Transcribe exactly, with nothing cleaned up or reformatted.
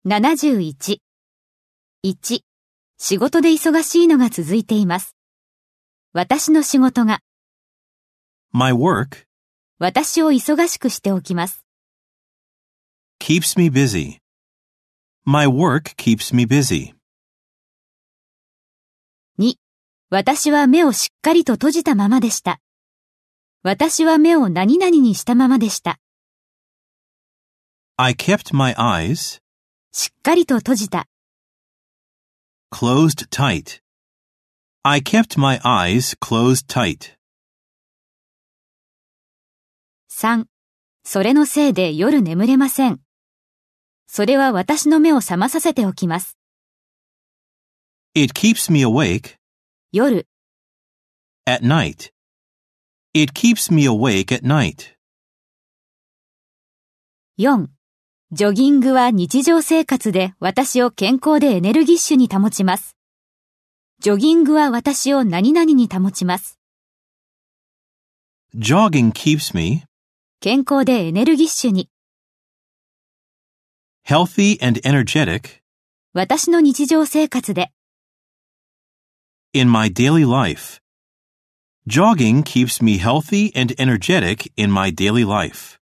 ななじゅういち。いち、仕事で忙しいのが続いています。私の仕事が、 My work 私を忙しくしておきます。 keeps me busy. My work keeps me busy. に、私は目をしっかりと閉じたままでした。私は目を何々にしたままでした。 I kept my eyes しっかりと閉じた。 closed tight. I kept my eyes closed tight. さん、それのせいで夜眠れません。それは私の目を覚まさせておきます。 It keeps me awake 夜、 at night. It keeps me awake at night. よん、ジョギングは日常生活で私を健康でエネルギッシュに保ちます。ジョギングは私を何々に保ちます。 Jogging keeps me 健康でエネルギッシュに。 healthy and energetic 私の日常生活で。 in my daily life. Jogging keeps me healthy and energetic in my daily life.